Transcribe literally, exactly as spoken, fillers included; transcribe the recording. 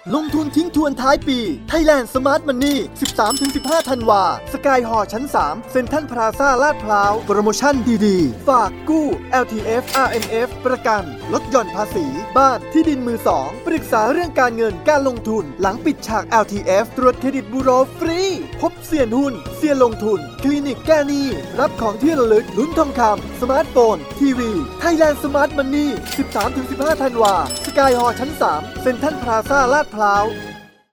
ลงทุนทิ้งทวนท้ายปี Thailand Smart Money สิบสามถึงสิบห้า ธันวาสกายฮอลล์ชั้น สาม เซ็นทรัลพลาซ่าลาดพร้าวโปรโมชั่นดีๆฝากกู้ แอล ที เอฟ อาร์ เอ็ม เอฟ ประกันลดหย่อนภาษีบ้านที่ดินมือสองปรึกษาเรื่องการเงินการลงทุนหลังปิดฉาก แอล ที เอฟ ตรวจเครดิตบูโรฟรีพบเซียนหุ้นเซียนลงทุนคลินิกแก้หนี้รับของที่ระลึกลุ้นทองคำสมาร์ทโฟนทีวี Thailand Smart Money สิบสามถึงสิบห้า ธันวาสกายฮอลล์ชั้น สาม เซ็นทรัลพลาซ่าลาดพร้าว